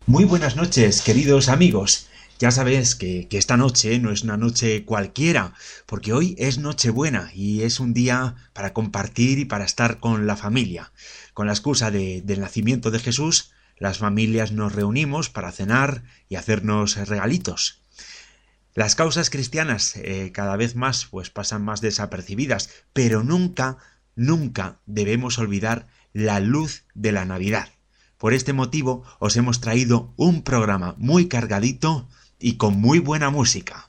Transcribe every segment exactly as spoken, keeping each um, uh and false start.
Muy buenas noches, queridos amigos. Ya sabéis que, que esta noche no es una noche cualquiera, porque hoy es Nochebuena y es un día para compartir y para estar con la familia. Con la excusa de, del nacimiento de Jesús, las familias nos reunimos para cenar y hacernos regalitos. Las causas cristianas eh, cada vez más pues pasan más desapercibidas, pero nunca, nunca debemos olvidar la luz de la Navidad. Por este motivo os hemos traído un programa muy cargadito y con muy buena música.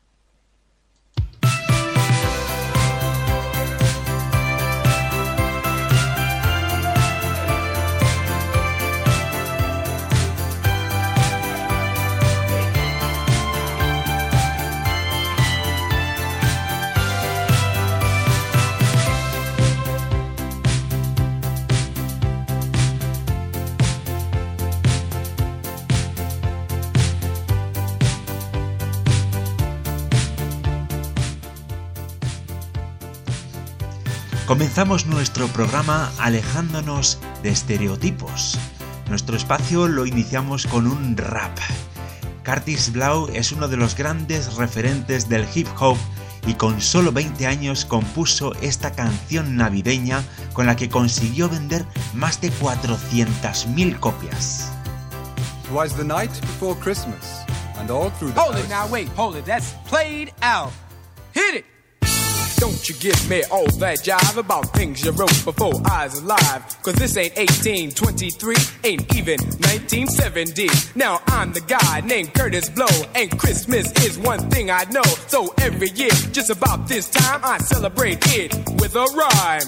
Comenzamos nuestro programa alejándonos de estereotipos. Nuestro espacio lo iniciamos con un rap. Curtis Blow es uno de los grandes referentes del hip hop y con solo veinte años compuso esta canción navideña con la que consiguió vender más de cuatrocientas mil copias. Twas the night before Christmas, and all through the Hold it now, wait, hold it, that's played out. Hit it! Don't you give me all that jive about things you wrote before I was alive. Cause this ain't eighteen twenty-three, ain't even nineteen seventy. Now I'm the guy named Curtis Blow, and Christmas is one thing I know. So every year, just about this time, I celebrate it with a rhyme.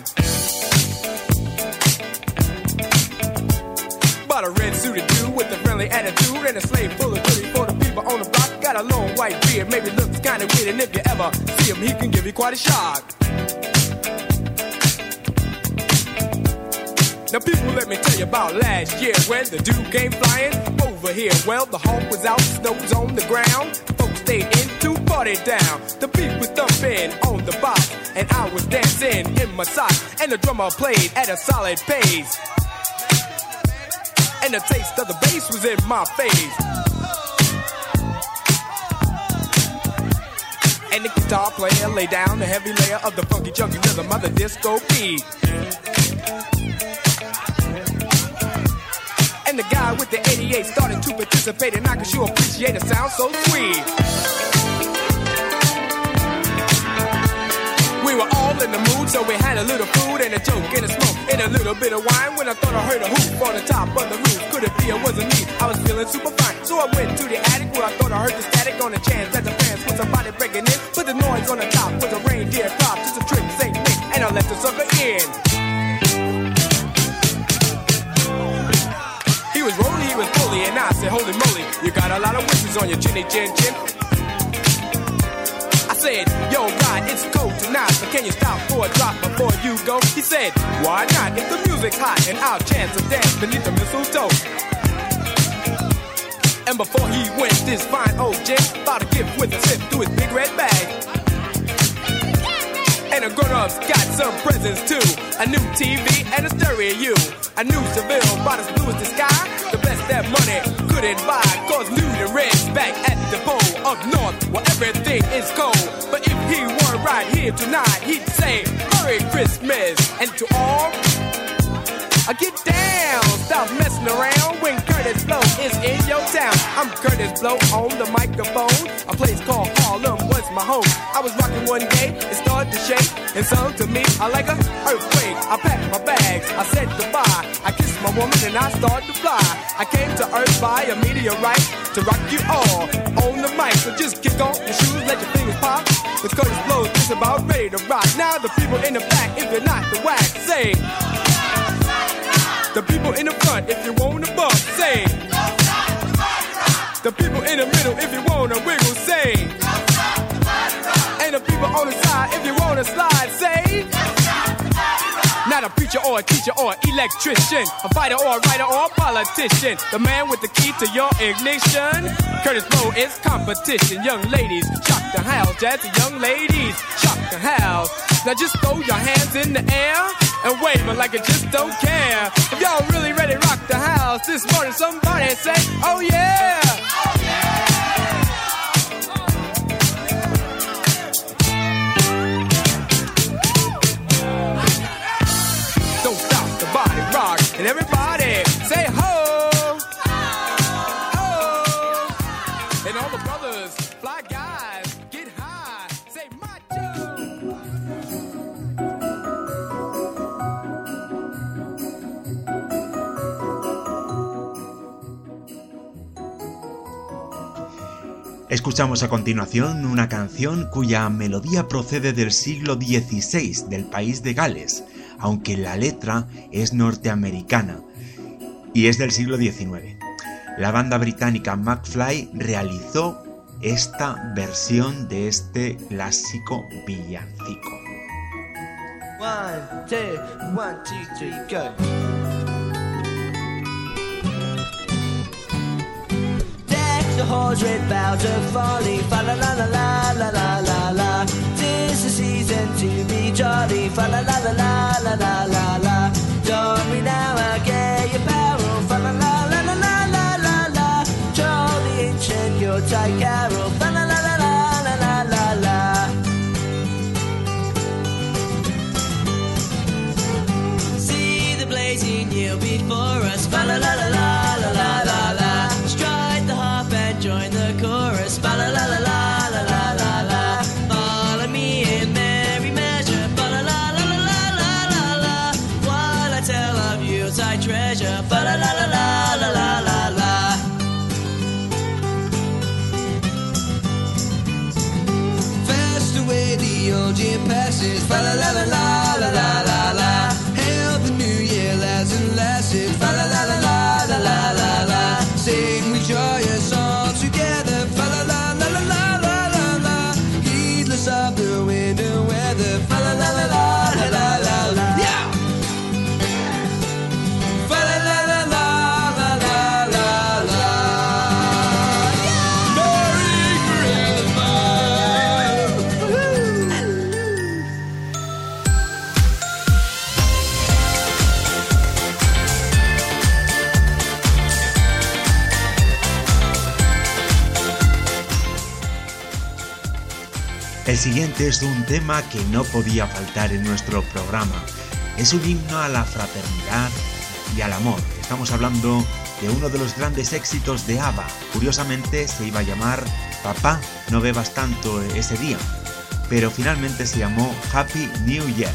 Bought a red suited dude with a friendly attitude and a sleigh full of goodies for the people on the block. Got a long white beard, maybe looks kinda weird, and if you ever see him, he can give you quite a shock. Now people, let me tell you about last year when the dude came flying over here. Well, the hawk was out, snow was on the ground. Folks stayed in to party down. The beat was thumping on the box, and I was dancing in my socks, and the drummer played at a solid pace. And the taste of the bass was in my face. And the guitar player laid down the heavy layer of the funky chunky rhythm of the disco beat. And the guy with the eighty-eight started to participate, and I could sure appreciate the sound so sweet. We were all in the mood, so we had a little food and a joke and a smoke and a little bit of wine. When I thought I heard a hoop on the top of the roof, could it be it wasn't me? I was feeling super fine, so I went to the attic where I thought I heard the static on the chance that the fans was somebody breaking in. But the noise on the top was a reindeer crop, just a trick, Saint Nick, and I let the sucker in. He was rolling, he was bully, and I said, holy moly, you got a lot of whiskers on your chinny chin chin. I said, yo, Rod, it's cold tonight, but can you stop for a drop before you go? He said, why not? If the music's hot and I'll chance a dance beneath the mistletoe. And before he went, this fine old gent bought a gift with a sip to his big red bag. And the grown-ups got some presents too, a new T V and a stereo. A new Seville, about as blue as the sky, the best that money couldn't buy. Cause Lou the Red's back at the pole up north where everything is cold. But if he were right here tonight, he'd say Merry Christmas. And to all, I get down, stop messing around when Curtis Blow is in your town. I'm Curtis Blow on the microphone. A place called Harlem was my home. I was rocking one day, it started to shake. It sung to me, I like a earthquake. I packed my bags, I said goodbye. I kissed my woman and I started to fly. I came to earth by a meteorite to rock you all on the mic. So just kick off your shoes, let your fingers pop. Cause Curtis Blow is just about ready to rock. Now the people in the back, if you're not the whack, say. The people in the front, if you want to bump, say. The people in the middle, if you want to wiggle, say. And the people on the side, if you want to slide, say. Not a preacher or a teacher or an electrician, a fighter or a writer or a politician. The man with the key to your ignition. Curtis Blow is competition. Young ladies, shock the house. Jazzy young ladies, shock the house. Now just throw your hands in the air and waving like you just don't care. If y'all really ready to rock the house this morning, somebody say, oh yeah! Oh yeah! Don't stop the body rock, and everybody say ho! Ho! And all the brothers, fly guys, get high, say macho! Escuchamos a continuación una canción cuya melodía procede del siglo dieciséis del país de Gales, aunque la letra es norteamericana y es del siglo diecinueve. La banda británica McFly realizó esta versión de este clásico villancico. One, two, one, two, three, go. The horse red boughs are falling, fa la la la la la la la la. 'Tis the season to be jolly, fa la la la la la la la la. Don't me now, I get your barrel, fa la la la la la la la la. Troll the ancient Yuletide carol, fa la la la la la la la la. See the blazing yield before us, fa la la la la la la la la. Strike the harp and join the chorus, fa la la la la la la la la. Follow me in merry measure, fa la la la la la la la la. While I tell of Yuletide treasure, fa la la la la la la la la. Fast away the old year passes, fa la la la la la la la la. Hail the new year, lads and lasses, fa la la la la la la la la. Sing we joyous all together, fa la la la la la la la la. Heedless of the winter weather, fa la la la la la la la la. Yeah. Fa la la la la la la la la. Yeah. Merry Christmas. Woo-hoo. El siguiente es un tema que no podía faltar en nuestro programa. Es un himno a la fraternidad y al amor. Estamos hablando de uno de los grandes éxitos de ABBA. Curiosamente se iba a llamar Papá, no bebas tanto ese día, pero finalmente se llamó Happy New Year.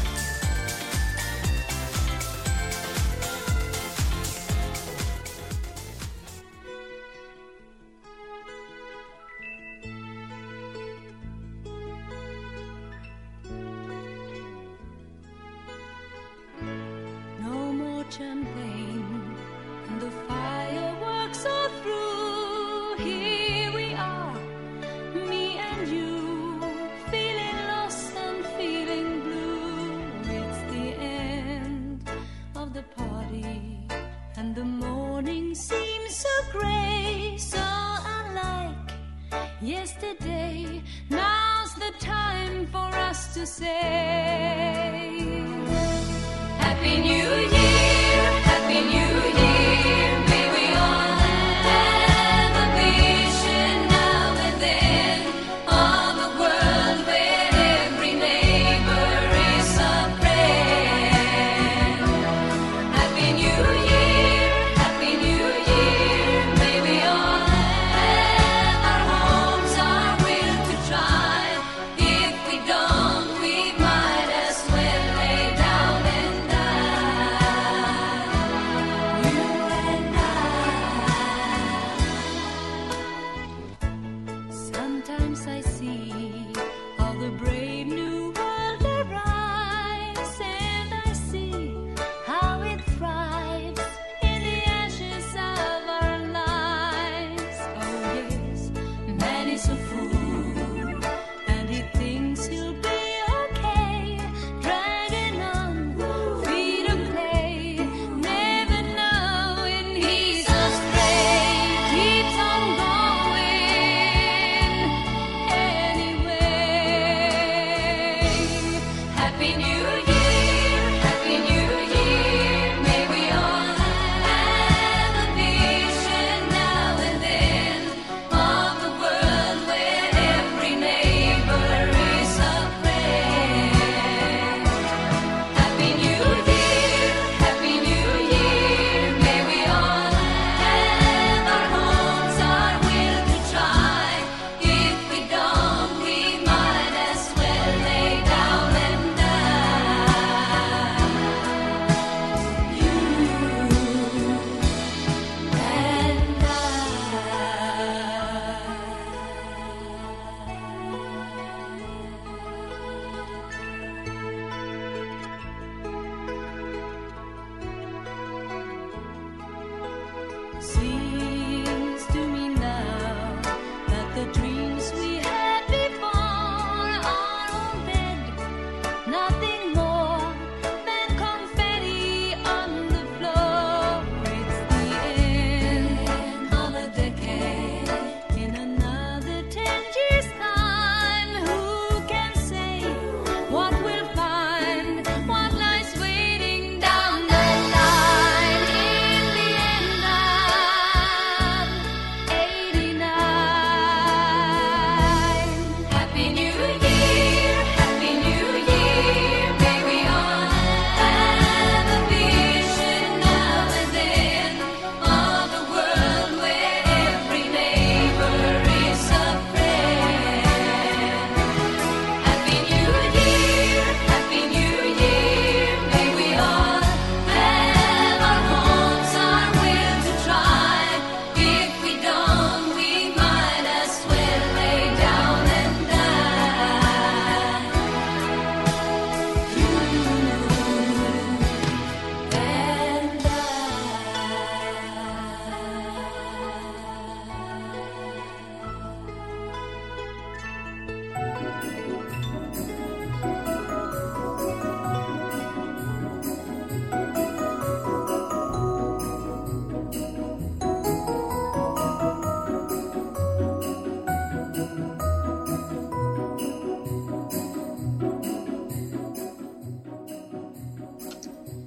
No more champagne, and the fireworks are through. Here we are, me and you, feeling lost and feeling blue. It's the end of the party, and the morning seems so grey, so unlike yesterday. Now's the time for us to say Happy New Year, Happy New Year. May we all have a vision now and then of a world where every neighbor is a friend. Happy New Year, Happy New Year. May we all have our homes, our will to try. If we don't, we might as well lay down and die.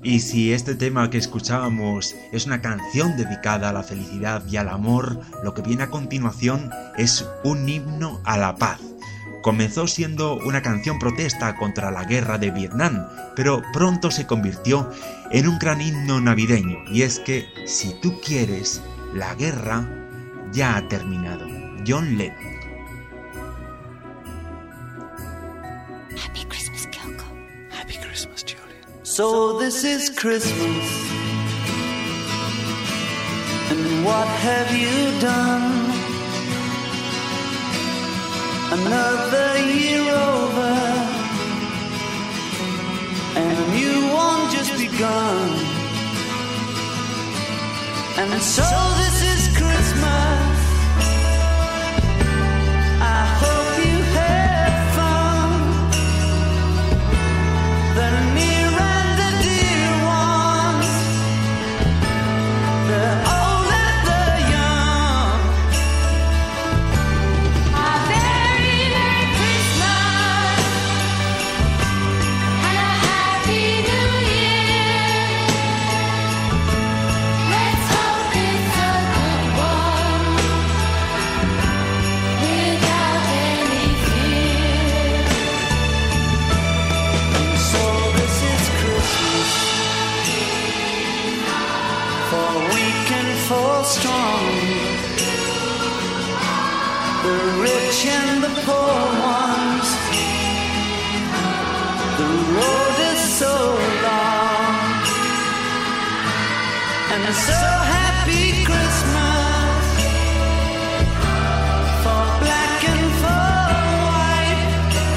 Y si este tema que escuchábamos es una canción dedicada a la felicidad y al amor, lo que viene a continuación es un himno a la paz. Comenzó siendo una canción protesta contra la guerra de Vietnam, pero pronto se convirtió en un gran himno navideño, y es que, si tú quieres, la guerra ya ha terminado. John Lennon. Happy Christmas, Kyoko. Happy Christmas, Julian. So this is Christmas, and what have you done? Another year over, and a new one just begun. And so this is Christmas. I hope you had fun. The near and the dear ones, the old and the young. A very Merry Christmas and a Happy New Year. Let's hope it's a good one without any fear. So this is Christmas, for weak and for strong, the rich and the poor ones. The road is so long, and so happy Christmas for black and for white,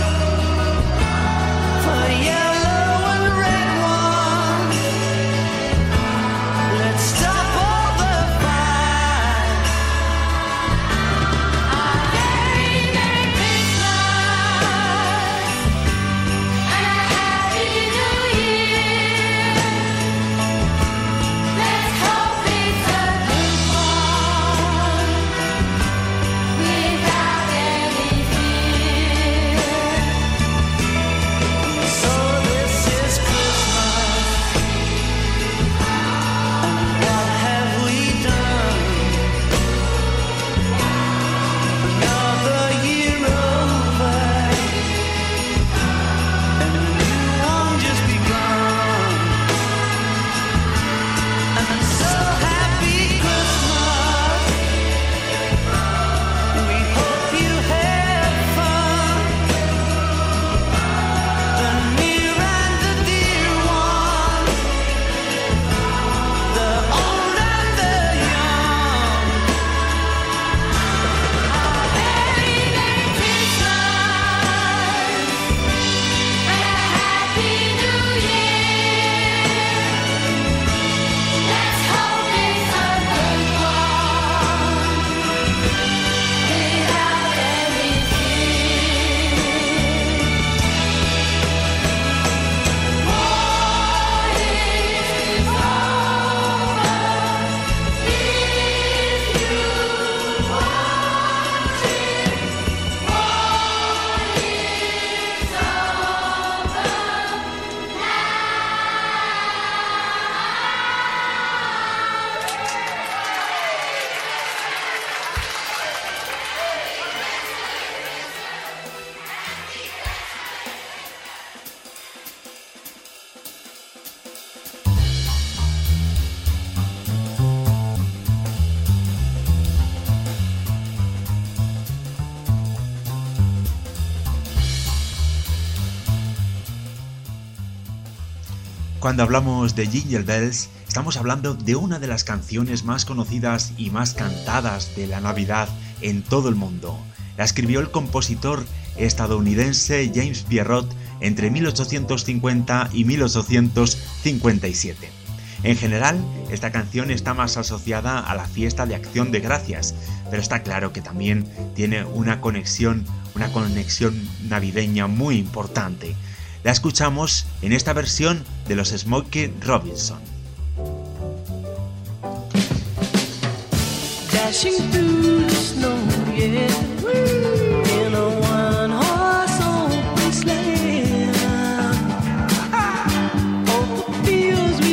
for yellow and red ones. Let's stop all the fight. A very Merry Christmas and a Happy New Year. Let's hope it's a good one without any fear. So this is Christmas, and what have we done? Another year over, and a new one just begun. And so happy Christmas. We hope you had fun. The near and the dear ones, the old and the young. Very Merry Christmas and a Happy New Year. Let's hope it's a good one without any fear. War is over if you want it. War is over now. Cuando hablamos de Jingle Bells, estamos hablando de una de las canciones más conocidas y más cantadas de la Navidad en todo el mundo. La escribió el compositor estadounidense James Pierrot entre mil ochocientos cincuenta y mil ochocientos cincuenta y siete. En general, esta canción está más asociada a la fiesta de Acción de Gracias, pero está claro que también tiene una conexión, una conexión navideña muy importante. La escuchamos en esta versión de los Smokey Robinson. Dashing through the snow, yeah, in a one-horse open sleigh. Over fields we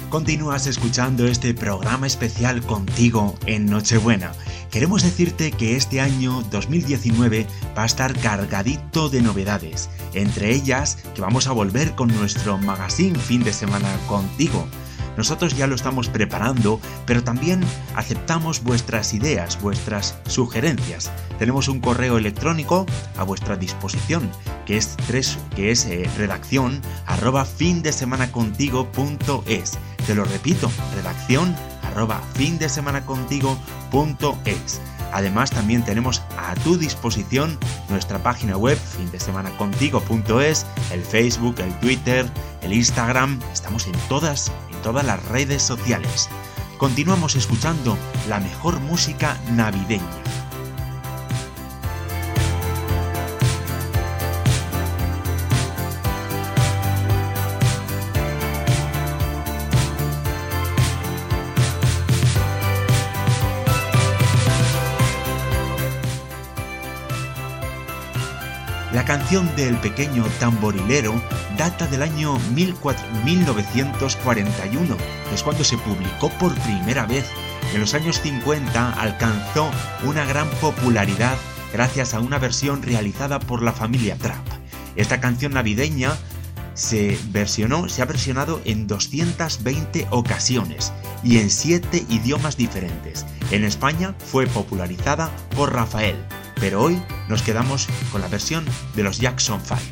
Continúas escuchando este programa especial contigo en Nochebuena. Queremos decirte que este año dos mil diecinueve va a estar cargadito de novedades, entre ellas que vamos a volver con nuestro magazine Fin de Semana Contigo. Nosotros ya lo estamos preparando, pero también aceptamos vuestras ideas, vuestras sugerencias. Tenemos un correo electrónico a vuestra disposición, que es, tres, que es eh, redacción arroba findesemanacontigo.es. Te lo repito, redacción arroba findesemanacontigo.es. Además, también tenemos a tu disposición nuestra página web findesemanacontigo.es, el Facebook, el Twitter, el Instagram. Estamos en todas, en todas las redes sociales. Continuamos escuchando la mejor música navideña. La canción del pequeño tamborilero data del año mil novecientos cuarenta y uno, que es cuando se publicó por primera vez. En los años cincuenta alcanzó una gran popularidad gracias a una versión realizada por la familia Trapp. Esta canción navideña se versionó, se ha versionado en doscientas veinte ocasiones y en siete idiomas diferentes. En España fue popularizada por Rafael, pero hoy nos quedamos con la versión de los Jackson Five.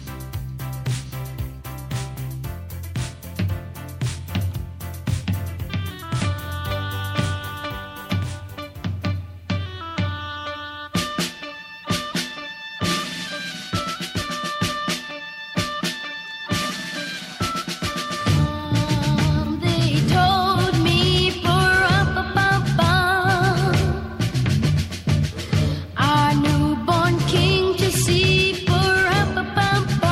Our newborn king to see, for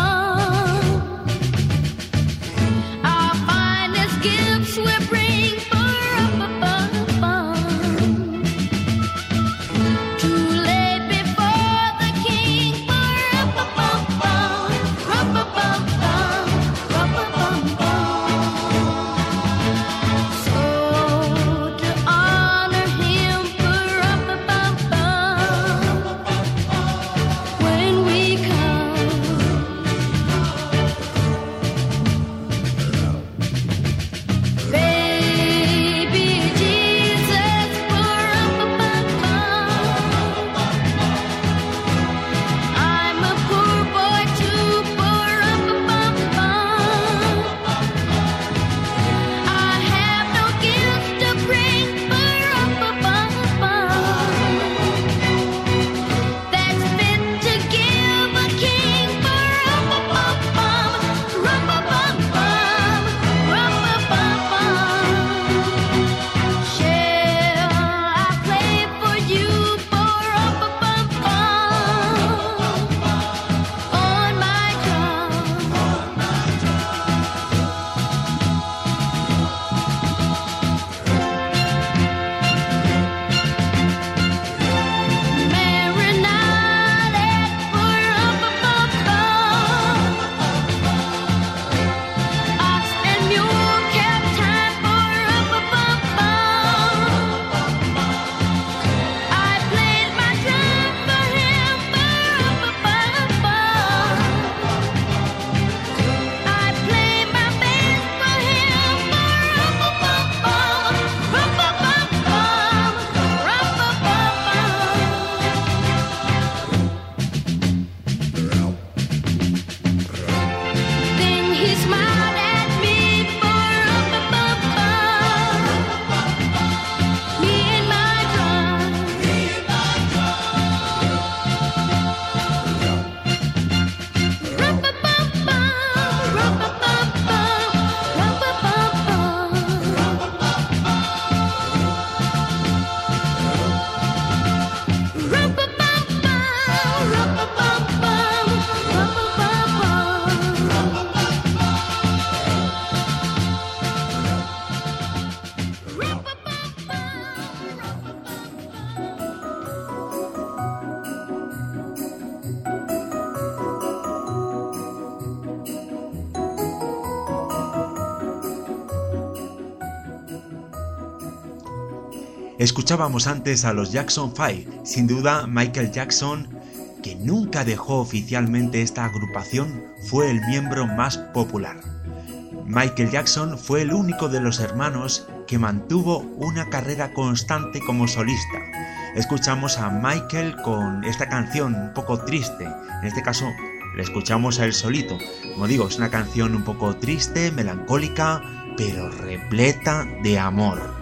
Escuchábamos antes a los Jackson Five, sin duda Michael Jackson, que nunca dejó oficialmente esta agrupación, fue el miembro más popular. Michael Jackson fue el único de los hermanos que mantuvo una carrera constante como solista. Escuchamos a Michael con esta canción un poco triste, en este caso le escuchamos a él solito. Como digo, es una canción un poco triste, melancólica, pero repleta de amor.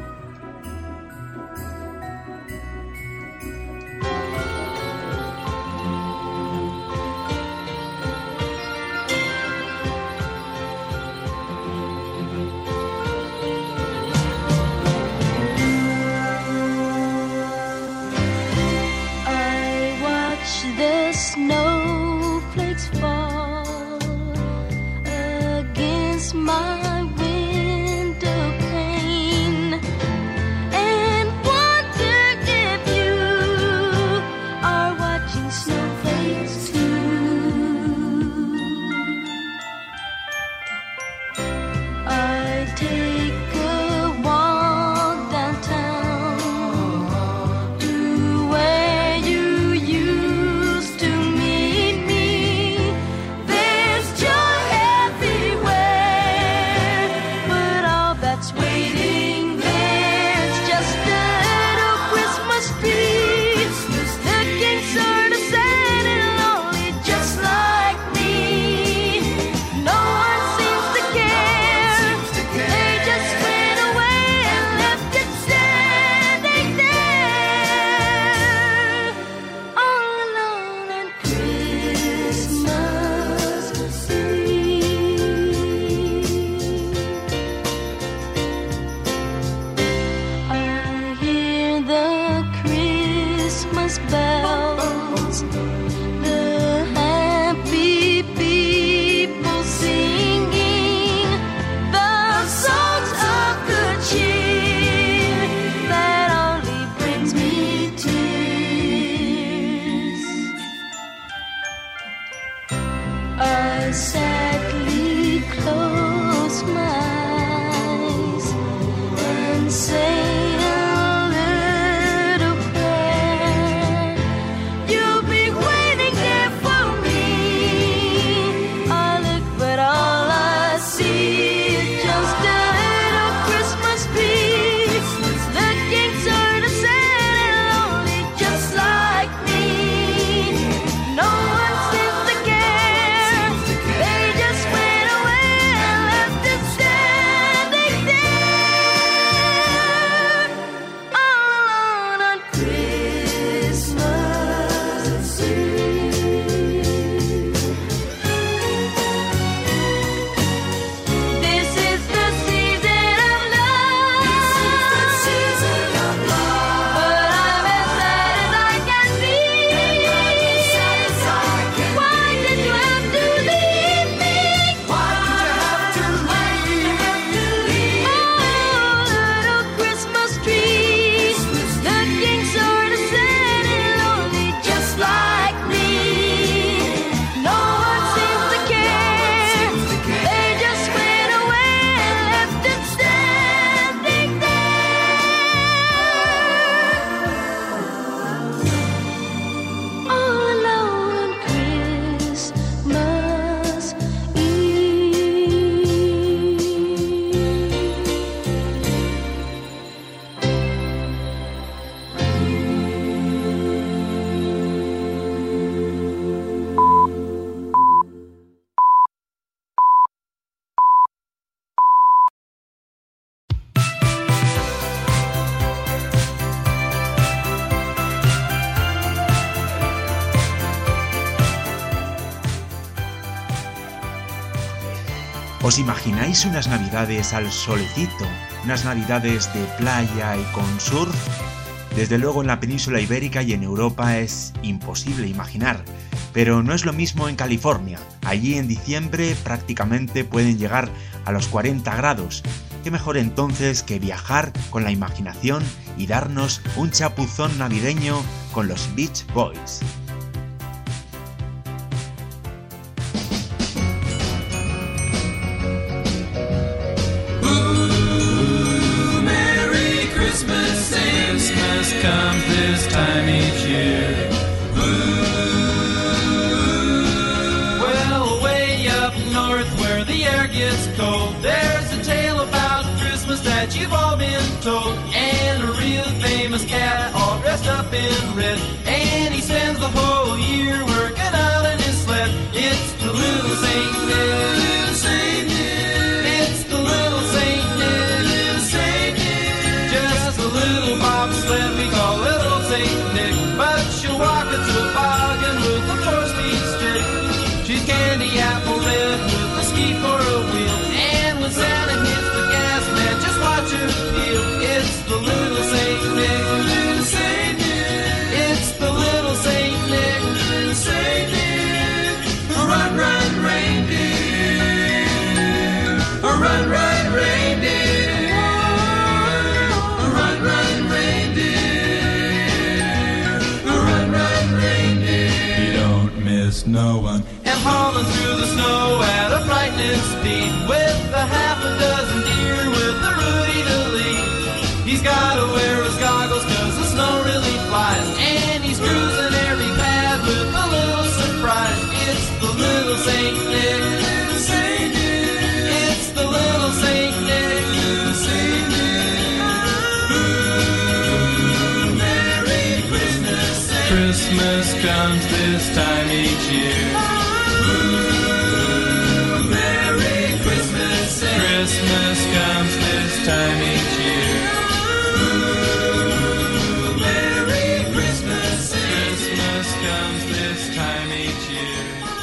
¿Os imagináis unas navidades al solecito? Unas navidades de playa y con surf. Desde luego en la península ibérica y en Europa es imposible imaginar, pero no es lo mismo en California. Allí en diciembre prácticamente pueden llegar a los cuarenta grados. ¿Qué mejor entonces que viajar con la imaginación y darnos un chapuzón navideño con los Beach Boys? Ooh, Merry Christmas and comes this time each year. Well, way up north where the air gets cold, there's a tale about Christmas that you've all been told. And a real famous cat all dressed up in red, and he spends the whole year working out in his sled. It's the little Saint Nick. Little Saint Nick. It's the little Saint Nick. Little Saint Nick. Just a little bobsled we call little Saint Nick. But she'll walk a toboggan with a four-speed stick. She's candy apple red with a ski for a wheel. And when Santa hits the gas, man, just watch her feel. It's the little Saint Nick. Little Saint Nick. It's the little Saint Nick. Little Saint Nick. Run, run, reindeer. Run, run, reindeer. Run, run, reindeer. Run, run, reindeer. You don't miss no one. And hauling through the snow at a frightening speed, with a half a dozen deer with the Rudy to lead. He's gotta wear his goggles cause the snow really flies, and he's cruising every pad with a little surprise. It's the little Saint Nick. Little Saint Nick. It's the little Saint Nick. Little Saint Nick. Ooh, Merry Christmas. Saint Christmas comes this time each year. Ooh, Merry Christmas. Saint Christmas comes this time each year. Ooh, Merry Christmas. Saint Christmas comes this time each year.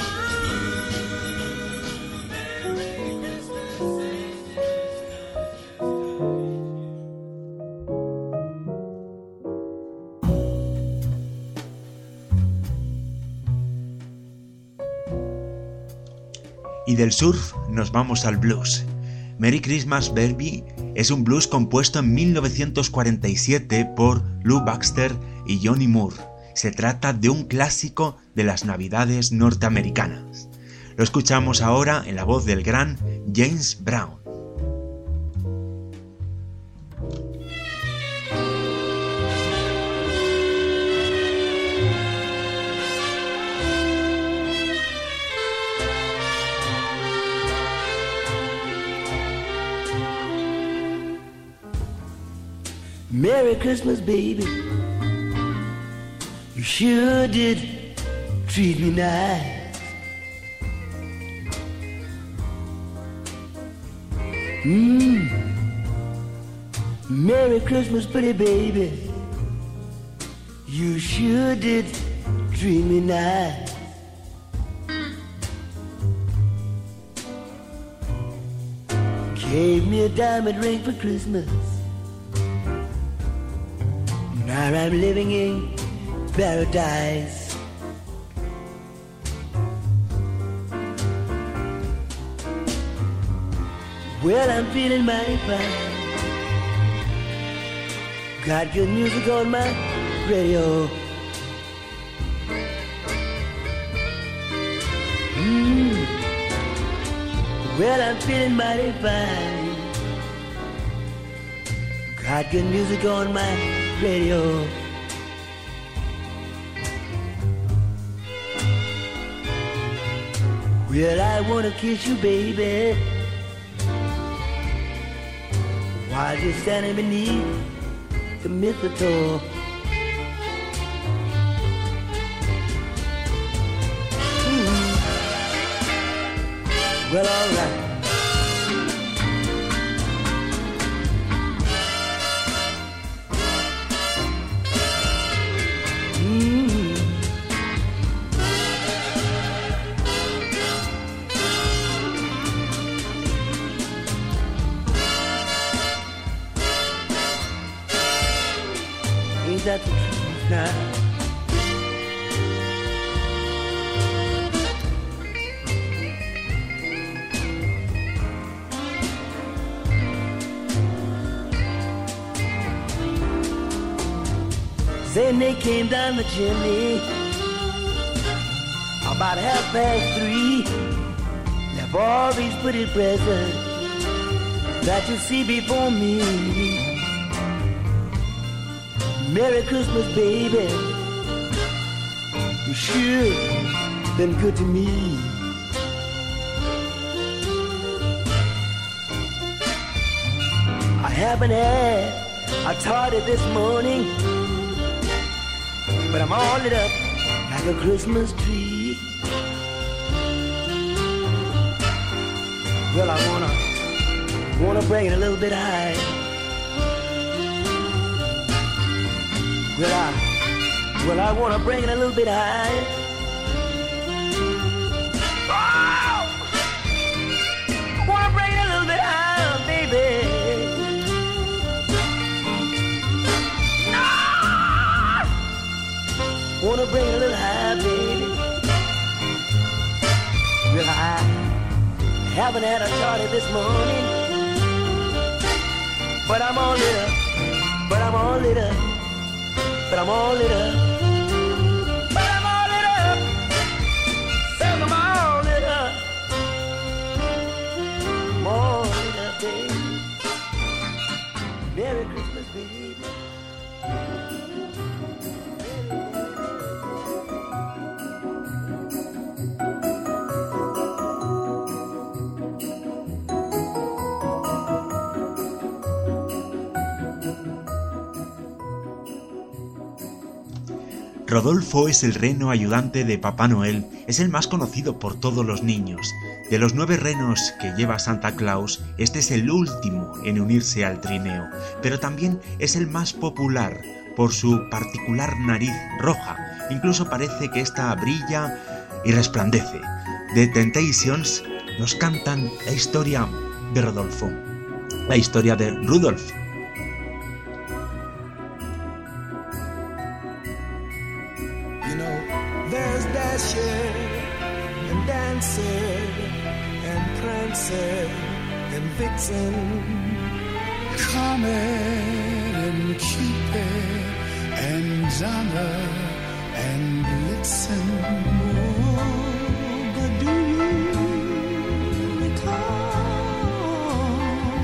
Y del surf nos vamos al blues. Merry Christmas Baby es un blues compuesto en mil novecientos cuarenta y siete por Lou Baxter y Johnny Moore. Se trata de un clásico de las navidades norteamericanas. Lo escuchamos ahora en la voz del gran James Brown. Merry Christmas, baby. You sure did treat me nice. Mmm. Merry Christmas, pretty baby. You sure did treat me nice. Gave me a diamond ring for Christmas. Now I'm living in paradise. Well, I'm feeling mighty fine. Got good music on my radio. Mm. Well, I'm feeling mighty fine. Got good music on my radio. Well, I wanna kiss you, baby, while you're standing beneath the mistletoe. Mm. Well, all right. That's the truth now. Then they came down the chimney about half past three. Left all these pretty presents that you see before me. Merry Christmas, baby. You sure been good to me. I haven't had a tardy this morning, but I'm all lit up like a Christmas tree. Well, I wanna, wanna bring it a little bit high. Well, I, well, I wanna bring it a little bit high. Oh! I wanna bring it a little bit higher, baby. Wanna bring it a little high, baby. Well, I haven't had a tardy this morning, but I'm all lit up, but I'm all lit up, but I'm all lit up, but I'm all lit up, says I'm all lit up, I'm all lit up, baby. Merry Christmas, baby. Rodolfo es el reno ayudante de Papá Noel, es el más conocido por todos los niños. De los nueve renos que lleva Santa Claus, este es el último en unirse al trineo, pero también es el más popular por su particular nariz roja. Incluso parece que esta brilla y resplandece. The Temptations nos cantan la historia de Rodolfo, la historia de Rudolph. There's Dasher and Dancer and Prancer and Vixen, Comet and Cupid and Donner and Blitzen. Oh, but do you recall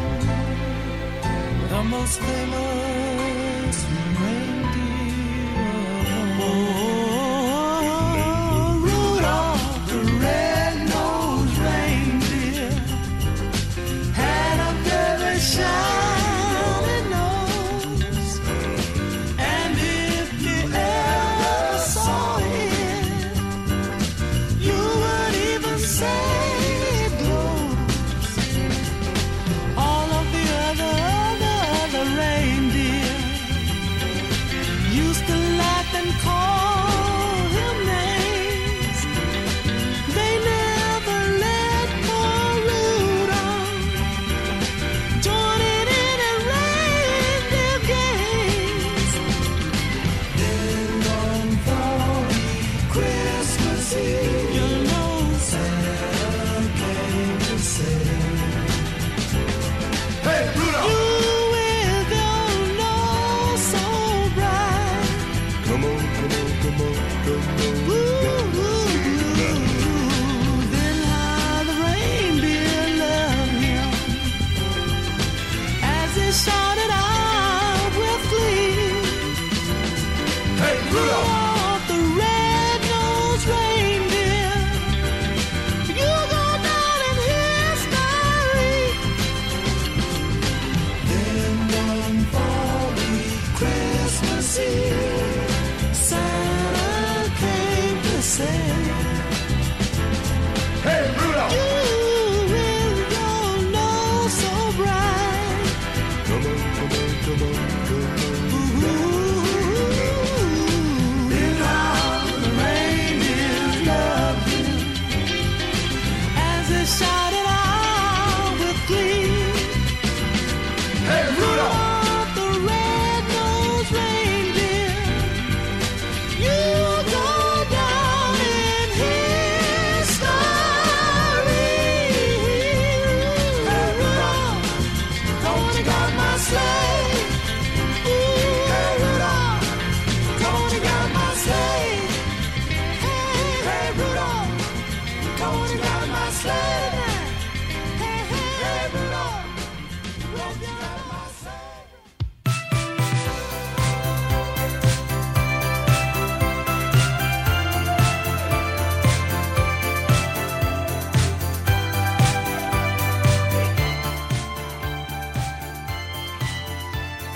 the most famous reindeer? Oh, shining nose, and if you ever saw it, you would even say it glows. All of the other, other, other rain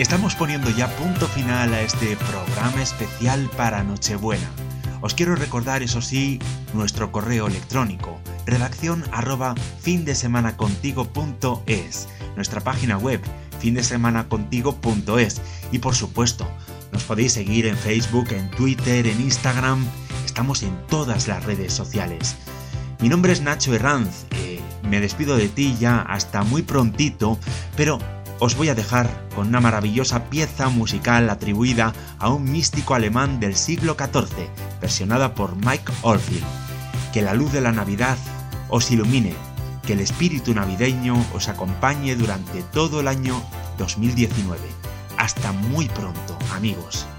Estamos poniendo ya punto final a este programa especial para Nochebuena. Os quiero recordar, eso sí, nuestro correo electrónico, redacción arroba findesemanacontigo.es, nuestra página web, findesemanacontigo punto es, y por supuesto, nos podéis seguir en Facebook, en Twitter, en Instagram, estamos en todas las redes sociales. Mi nombre es Nacho Herranz, eh, me despido de ti ya hasta muy prontito, pero os voy a dejar con una maravillosa pieza musical atribuida a un místico alemán del siglo catorce, versionada por Mike Oldfield. Que la luz de la Navidad os ilumine, que el espíritu navideño os acompañe durante todo el año dos mil diecinueve. Hasta muy pronto, amigos.